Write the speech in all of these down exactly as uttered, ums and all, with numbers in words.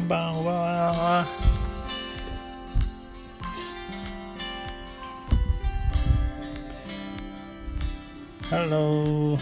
んばんは。ハロー。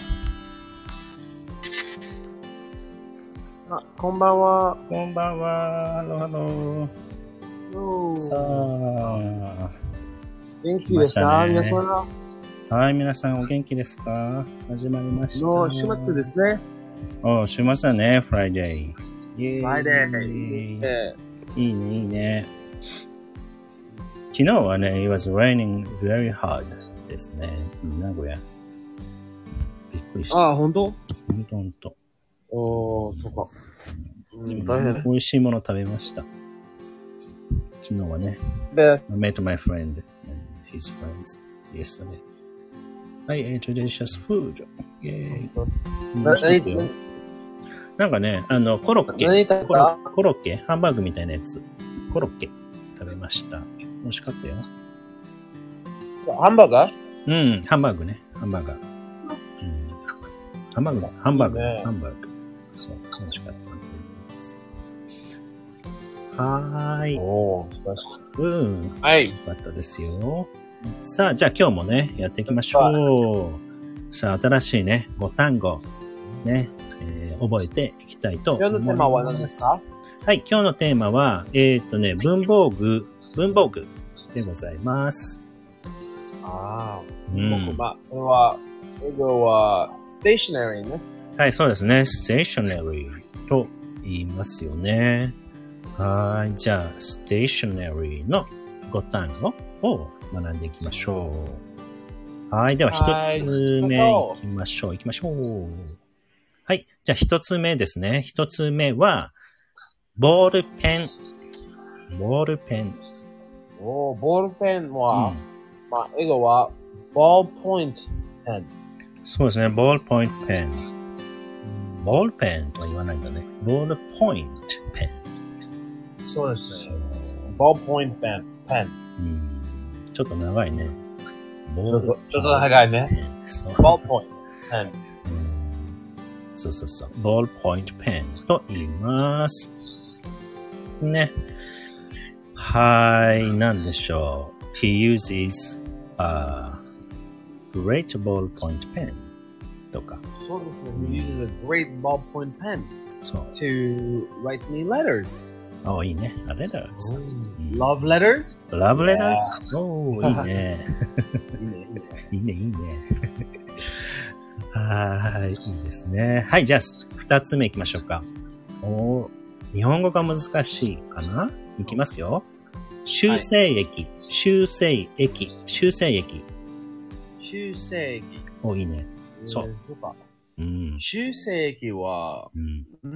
あ、こんばんは。 こんばんは。ハローハロー。さあ。 元気ですか、ね、皆さん。 はい、皆さんお元気ですか？始まりました。 もう週末ですね。 お、週末だね、フライデー。イェーイ。 フライデー。いいね。 いいね、いいね。昨日はね、it was raining very hard ですね。名古屋。びっくりした。 ああ、ほんと？ ほんとほんと。 おー、そっか。 うん、大変。美味しいもの食べました。昨日はね。 で、 I met my friend and his friends yesterday. I ate delicious food. イェーイ。なんかね、あの、コロッケコロ、コロッケハンバーグみたいなやつ。コロッケ食べました。美味しかったよ。 ハンバーガー？ うん、ハンバーグね。ハンバーガー。うん、ハンバーグ、ハンバーグ、ね、ハンバーグ。そう、美味しかったです。はーい。 おー、素晴らしい。 うん。 はい。 よかったですよ。さあ、じゃあ今日もね、やっていきましょう。さあ、新しいね、ご単語、ね、えー、覚えていきたいと思います。 今日のテーマは何ですか？ はい、今日のテーマは、えっとね、文房具、文房具でございます。 ああ、 うん。 僕、まあ、それは、英語は、ステーショナリーね。 はい、そうですね。ステーショナリーと言いますよね。はい、じゃあ、ステーショナリーのご単語を学んでいきましょう。はい、では一つ目いきましょう。いきましょう。はい、じゃあ一つ目ですね。一つ目は、ボールペン。ボールペン。 おー、ボールペンは、うん、まあ、英語は、ボールポイントペン。 そうですね、ボールポイントペン。ボールペンとは言わないんだね。ボールポイントペン。 そうですね。ボールポイントペン。ペン。 うん、ちょっと長いね。 ボールちょっと長いね。ボールポイントペン。 そうそうそう。ボールポイントペンと言います。ね。はい、なんでしょう。He uses a great ballpoint pen とか。 そうですね。He uses a great ballpoint pen そう to write me letters. お、いいね。letters. Love letters? Love letters? おー、いいね。 いいね、いいね。 いいね、いいね。はい、いいですね。はい、じゃあ、二つ目行きましょうか。お、日本語が難しいかな？いきますよ。修正液、はい、修正液、修正液。 修正液。 お、いいね。そう。 そうか。 うん。 修正液は、 うん。 うん、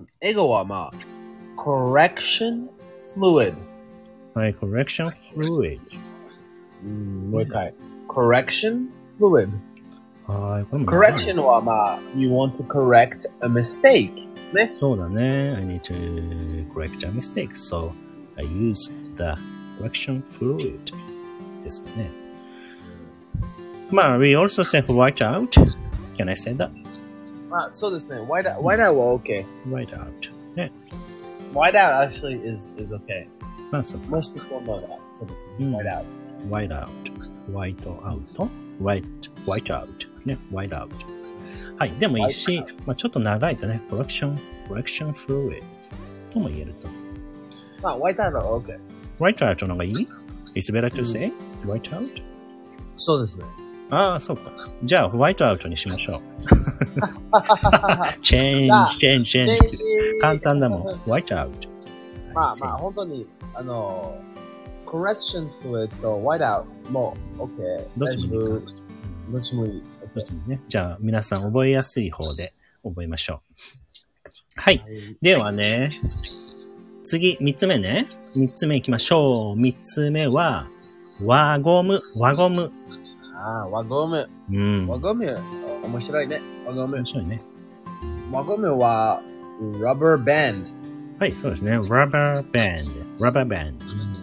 英語はまあ、correction fluid。 はい、correction fluid。 うん、もう一回。correction fluid。 はい、これも。 correction はまあ、you want to correct a mistake。ね。 そうだね。I need to correct a mistake. So, I use the correction fluid ですかね。まあ、we also say white out. Can I say that? まあ、そうですね。white out, white out は OK. White out. ね。 white out actually is, is OK. あ、そう。 Most people know that. そうですね。white out. white out. white out. white, white out. ね。white out. はい。でもいいし、まあ、ちょっと長いとね、correction, correction fluid とも言えると。 まあ、white out は OK。 white out の方がいい？ It's better to say white out? そうですね。 ああ、そうか。じゃあ、ホワイトアウトにしましょう。チェンジ、チェンジ、チェンジ。簡単だもん。ホワイトアウト。 まあまあ、本当に、あの、correction fluid と white out も OK。 どっちもいいか。 どっちもいい。 どっちもね。じゃあ、皆さん覚えやすい方で覚えましょう。はい。ではね、次、三つ目ね。三つ目行きましょう。三つ目は、輪ゴム、輪ゴム。 ああ、輪ゴム。 うん。 輪ゴム、面白いね。輪ゴム。 面白いね。 輪ゴムは、rubber band。 はい、そうですね。rubber band。rubber band。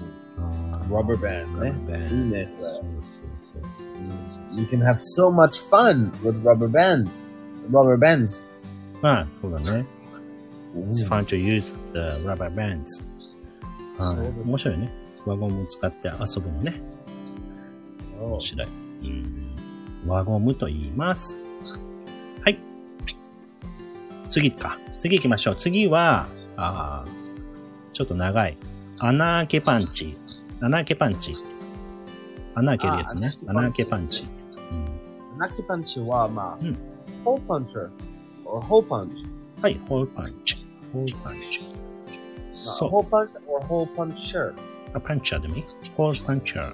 rubber band ね。 rubber band。 いいね、それ。そうそうそう。You can have so much fun with rubber band. rubber bands. まあ、そうだね。 It's fun to use the rubber bands. はい、面白いね。輪ゴムを使って遊ぶのね。面白い。うん、輪ゴムと言います。はい。次か。次行きましょう。次は、あちょっと長い。穴開けパンチ。穴開けパンチ。穴開けるやつね。穴開けパンチ。うん、 穴開けパンチは、まあ、 うん、 hole puncher or hole punch。 はい、hole punch。hole punch。 そう。hole punch or hole puncher。 あ、パンチャーでもいい ?hole puncher。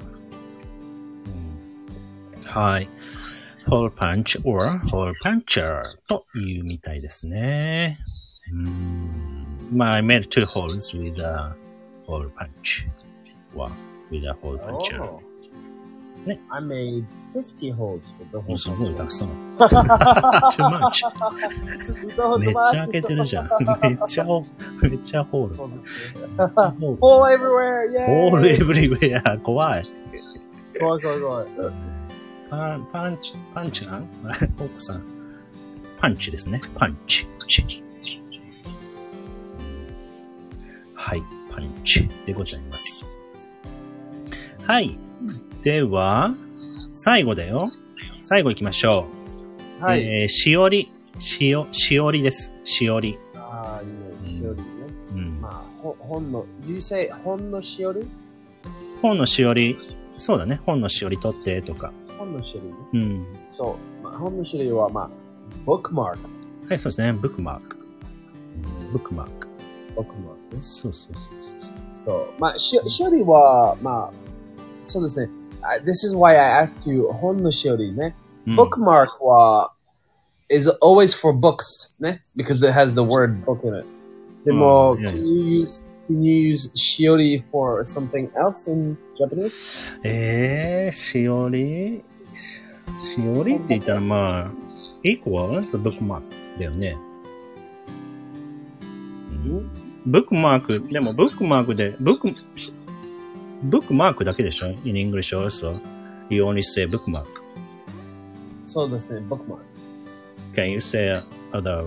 はい。hole punch or hole puncher というみたいですね。うーんまあ、I made two holes with a hole punch. Well, with a hole puncher. Oh. ね。I made fifty holes with the hole puncher. すごいたくさん。too much. めっちゃ開けてるじゃん。めっちゃ、めっちゃホール。 hole everywhere! Hole everywhere! 怖い。 怖い怖い怖い。 パン、パンチ、パンチなんホークさん。パンチですね。パンチ。はい。パンチでございます。はい。では、最後だよ。最後行きましょう。はい。えー、しおり。しお、しおりです。しおり。 ああ、いいね。しおりね。 うん。 まあ、ほ本の、do you say 本のしおり？ 本のしおり。そうだね。本のしおり取ってとか。 本のしおりね。 うん。 そう。まあ、本のしおりは、まあ、bookmark。 はい、そうですね。ブックマーク。ブックマーク。 ブックマークね。 そうそうそうそう。 そう。まあ、し、しおりは、まあ、そうですね。This is why I asked you 本のしおりね。うん、bookmark は is always for books ね。because it has the word book in it. でも、can you use Can you use しおり for something else in Japanese? えー、しおりしおりって言ったらまあ、equals bookmark だよね。ブックマーク、でもブックマークで、ブック、ブックマークだけでしょ ?in English also. You only say bookmark. そうですね、bookmark. Can you say other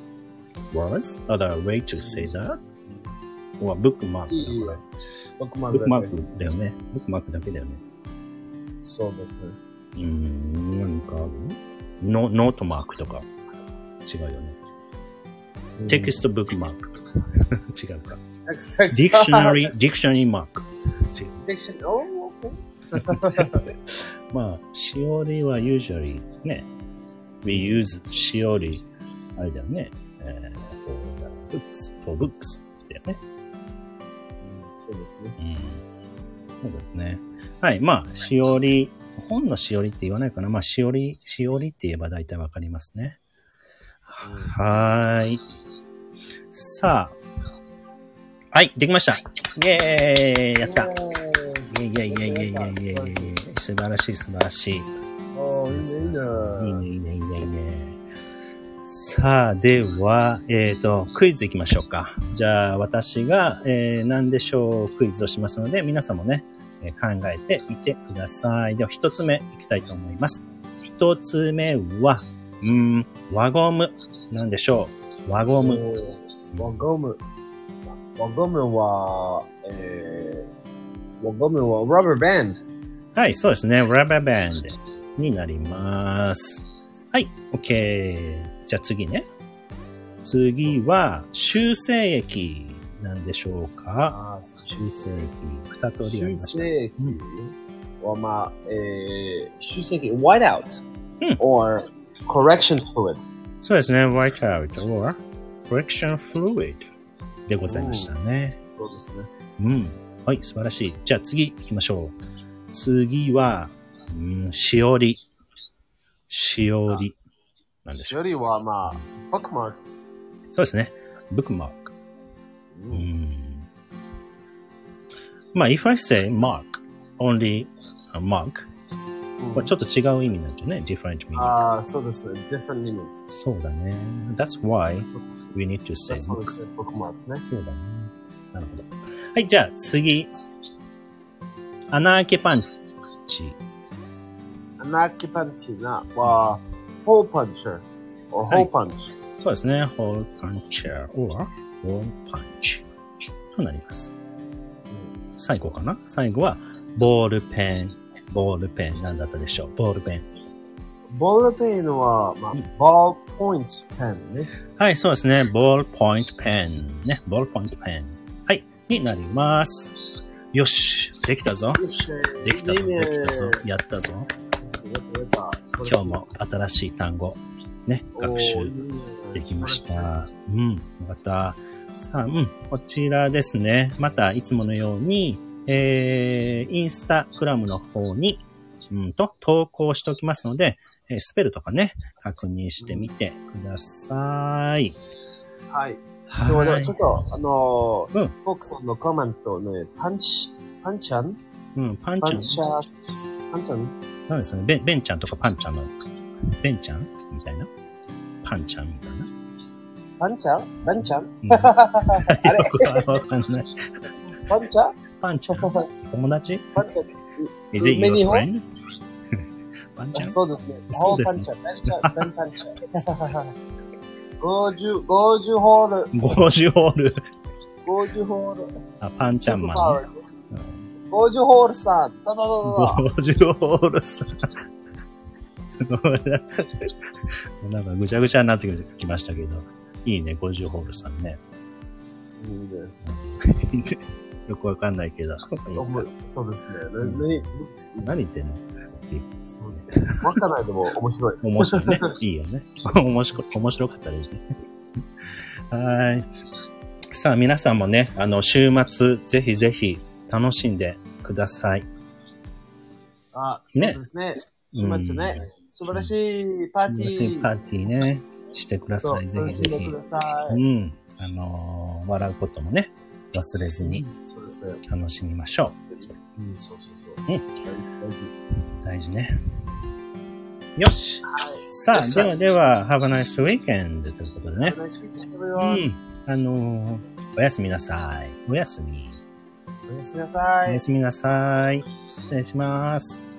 words? Other way to say that? はブックマーク。いいよ。ブックマークだよね。ブックマークだけだよね。 そうですね。 うーん、何かあるノノートマークとか違うよね。テキストブックマーク。違うか。ディクショナリー、ディクショナリーマーク。違う。 ディクショナリー、おー、 まあ、しおりは usually ね、we use しおり、あれだよね、えー、for books, for books だよね。 そうですね。 うん。そうですね。はい。まあ、しおり、本のしおりって言わないかな。まあ、しおり、しおりって言えば大体わかりますね。うん、はーい。さあ。はい、できました。イェーイやったイェイイェイイェイイェイイェイイェイイェイ素晴らしい素晴らしい。 おー、いいねいいねいいねいいねいいね。さあ、では、えっと、クイズ行きましょうか。じゃあ、私が、えー、何でしょうクイズをしますので、皆さんもね、えー、考えてみてください。では、一つ目いきたいと思います。一つ目は、うーん、輪ゴム。何でしょう輪ゴム。 輪ゴム。輪ゴムは、えー、輪ゴムは rubber band。 はい、そうですね。rubber band になります。はい、OK。じゃあ次ね。次は、修正液なんでしょうか。 あ修正液。二通りありました。 修正液は、まあ、えー、修正液、white out、うん、or correction fluid。 そうですね。white out or correction fluid でございましたね。 そうですね。 うん。はい、素晴らしい。じゃあ次行きましょう。次は、うん、しおり。しおり。なんでしょう。 しおりは、まあ、bookmark。 そうですね。bookmark。うん。まあ、if I say mark, only a mark、うん、ちょっと違う意味になっちゃうね。different meaning。 ああ、そうですね。different meaning。 そうだね。That's why we need to say book. bookmark ね。 そうだね。なるほど。はい、じゃあ次。穴開けパンチ。 穴開けパンチなは、hole puncher or hole punch。 そうですね。hole puncher or hole punch となります。最後かな最後は、ボールペン。ボールペン。何だったでしょうボールペン。 ボールペンは、まあ、ボールポイントペンね。 はい、そうですね。ボールポイントペン。ね。ボールポイントペン。はい。になります。よし。できたぞ。できたぞ。できたぞ。やったぞ。今日も新しい単語、ね、学習できました。うん。よかった。さあ、うん。こちらですね。また、いつものように、えー、インスタグラムの方に、うんと、投稿しておきますので、えー、スペルとかね、確認してみてください。 はい。はい。でもちょっと、あのー、 うん。 フォークさんのコメントね、パンチ、パンチャンうん、パンチャン。 パンチャン。パンチャンなんですね。ベン、ベンちゃんとかパンちゃんの、ベンちゃんみたいな。パンちゃんみたいな。 パンチャンバンちゃん、 うん、あれよくわかんない。 パンチャンパンちゃん友達パンチャン Is it your friend? パンちゃんそうですね。 そうですね。 パンチャン。パンチャン。ごじゅう、ごじゅうホール。 ごじゅうホール。 ごじゅうホール。 あ、パンちゃんマン、ね。 ごじゅうホールさん。どどどど。 ごじゅうホールさん。なんかぐちゃぐちゃになってきましたけど。いいね、ごじゅうホールさんね。いいね。よくわかんないけど。 そうですね。 何言ってんのわかんないでも面白い。 面白いね。いいよね。面白、面白かったですね。はい。さあ、皆さんもね、あの、週末、ぜひぜひ楽しんでください。 あ、そうですね。週末ね。素晴らしいパーティー。素晴らしいパーティーね。してください。ぜひぜひ。うん。あのー、笑うこともね、忘れずに楽しみましょう。 うん、そうそうそう。うん。大事。 大事ね。よし。さあ、ではでは、Have a nice weekend ということでね。 Have a nice weekend, everyone. うん。あのー、おやすみなさい。おやすみ。 おやすみなさい。 おやすみなさい。失礼します。